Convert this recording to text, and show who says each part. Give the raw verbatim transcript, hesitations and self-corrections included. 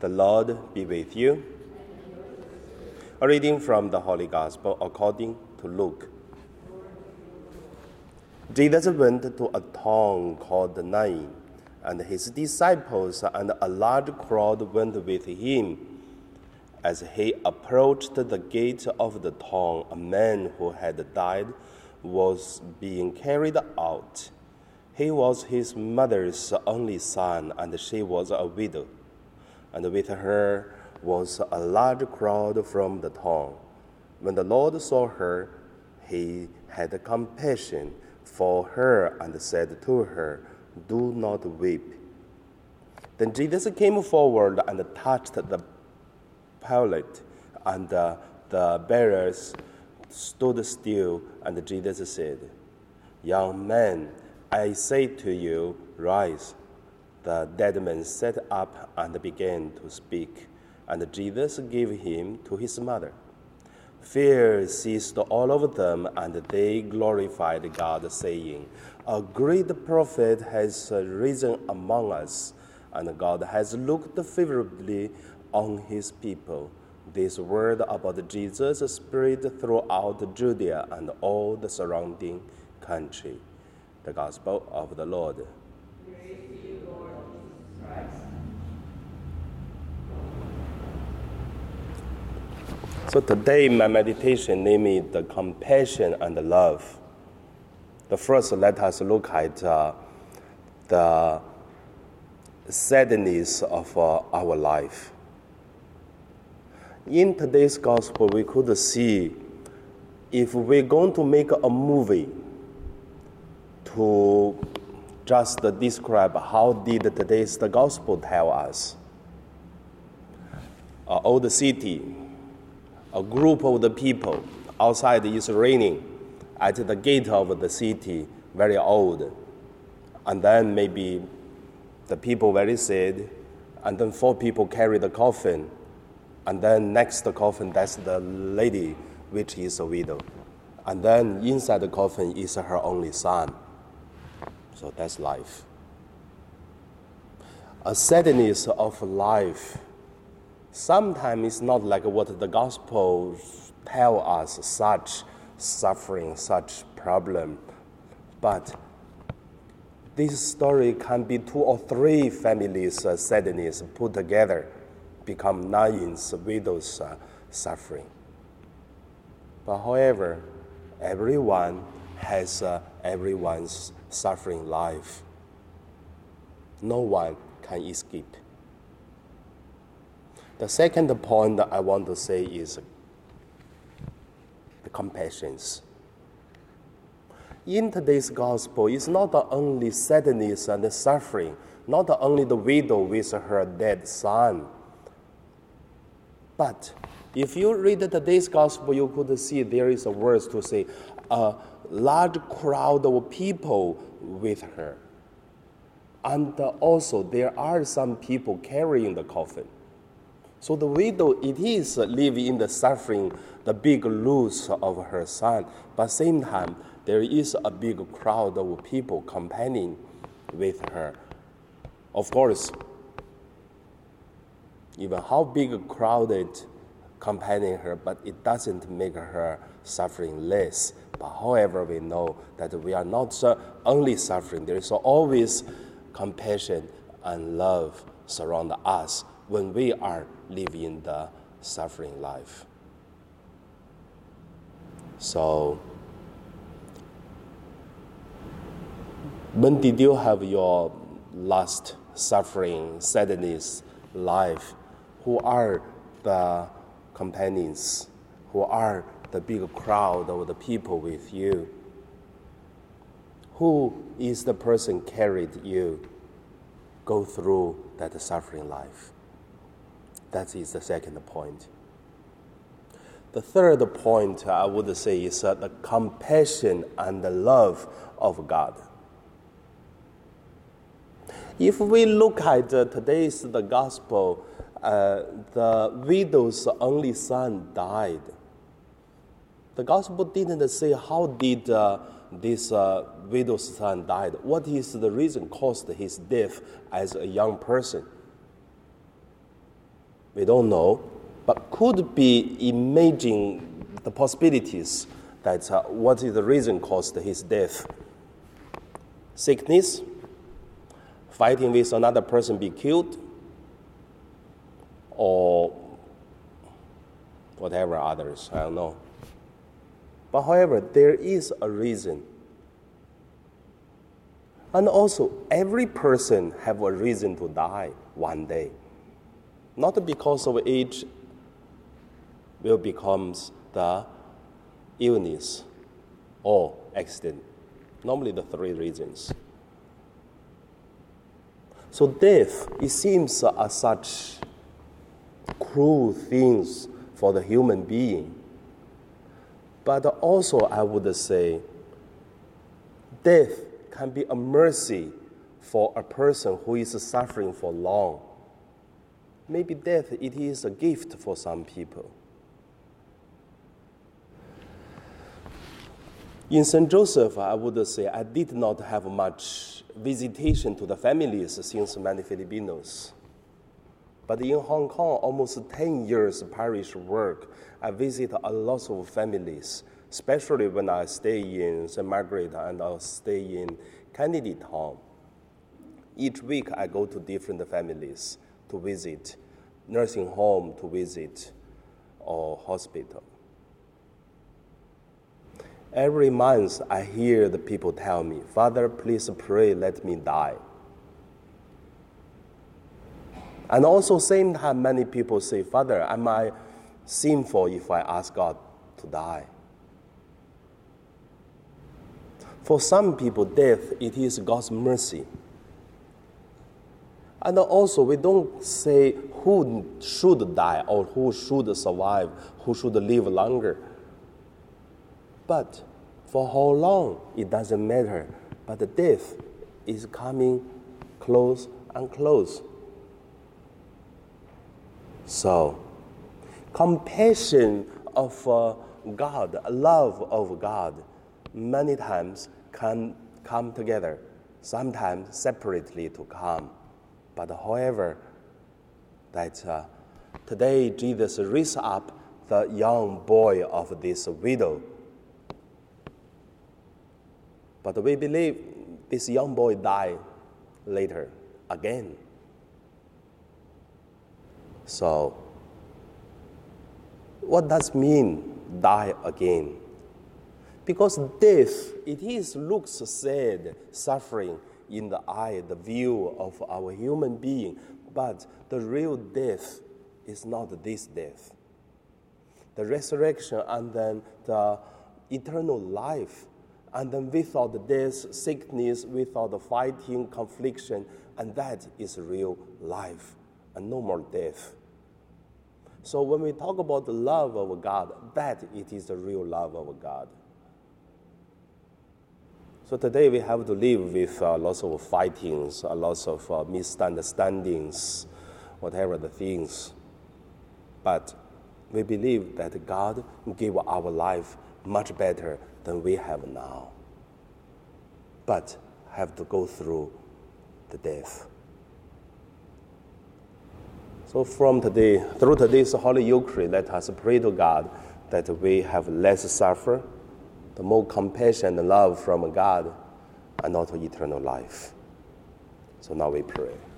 Speaker 1: The Lord be with you. A reading from the Holy Gospel according to Luke. Jesus went to a town called Nain, and his disciples and a large crowd went with him. As he approached the gate of the town, a man who had died was being carried out. He was his mother's only son, and she was a widow. And with her was a large crowd from the town. When the Lord saw her, he had compassion for her and said to her, "Do not weep." Then Jesus came forward and touched the pallet, and uh, the bearers stood still, and Jesus said, "Young man, I say to you, rise." The dead man sat up and began to speak, and Jesus gave him to his mother. Fear seized all of them, and they glorified God, saying, "A great prophet has risen among us, and God has looked favorably on his people." This word about Jesus spread throughout Judea and all the surrounding country. The Gospel of the Lord.
Speaker 2: Praise to you, Lord Jesus Christ.
Speaker 1: So today my meditation named the compassion and the love. The first, let us look at uh, the sadness of uh, our life. In today's gospel, we could see if we're going to make a movie to just describe how did today's the gospel tell us. An old city, a group of the people outside is raining at the gate of the city, very old. And then maybe the people very sad, and then four people carry the coffin, and then next the coffin, that's the lady, which is a widow. And then inside the coffin is her only son. So that's life. A sadness of life sometimes it's not like what the gospel tell us, such suffering, such problem. But this story can be two or three families' uh, sadness put together, become Nain's widow's uh, suffering. But however, everyone has uh, everyone's suffering life. No one can escape. The second point that I want to say is the compassion. In today's gospel, it's not only sadness and suffering, not only the widow with her dead son. But if you read today's gospel, you could see there is a verse to say, a large crowd of people with her. And also there are some people carrying the coffin. So the widow, it is living in the suffering, the big loss of her son. But same time, there is a big crowd of people accompanying with her. Of course, even how big a crowded accompanying her, but it doesn't make her suffering less. But however, we know that we are not only suffering. There is always compassion and love surround us when we are living the suffering life. So, when did you have your last suffering, sadness life? Who are the companions? Who are the big crowd of the people with you? Who is the person carried you go through that suffering life? That is the second point. The third point I would say is uh, the compassion and the love of God. If we look at uh, today's the gospel, uh, the widow's only son died. The gospel didn't say how did uh, this uh, widow's son died. What is the reason caused his death as a young person? We don't know, but could be imagine the possibilities that uh, what is the reason caused his death. Sickness, fighting with another person be killed, or whatever others, I don't know. But however, there is a reason. And also, every person have a reason to die one day. Not because of age will become the illness or accident. Normally the three reasons. So death, it seems are such cruel things for the human being. But also I would say, death can be a mercy for a person who is suffering for long. Maybe death, it is a gift for some people. In Saint Joseph, I would say I did not have much visitation to the families since many Filipinos. But in Hong Kong, almost ten years parish work, I visit a lot of families, especially when I stay in Saint Margaret and I stay in Kennedy Town. Each week I go to different families to visit, nursing home to visit, or hospital. Every month I hear the people tell me, "Father, please pray, let me die." And also same time many people say, "Father, am I sinful if I ask God to die?" For some people, death, it is God's mercy. And also, we don't say who should die or who should survive, who should live longer. But for how long, it doesn't matter. But the death is coming close and close. So, compassion of uh, God, love of God, many times can come together, sometimes separately to come. But however, that uh, today Jesus raised up the young boy of this widow. But we believe this young boy died later again. So, what does mean die again? Because death, it is looks sad, suffering in the eye, the view of our human being, but the real death is not this death. The resurrection and then the eternal life, and then without death, sickness, without fighting, confliction, and that is real life, and no more death. So when we talk about the love of God, that it is the real love of God. So today we have to live with uh, lots of fightings, uh, lots of uh, misunderstandings, whatever the things. But we believe that God gave our life much better than we have now. But have to go through the death. So from today, through today's Holy Eucharist, let us pray to God that we have less suffer, the more compassion and love from God, and also eternal life. So now we pray.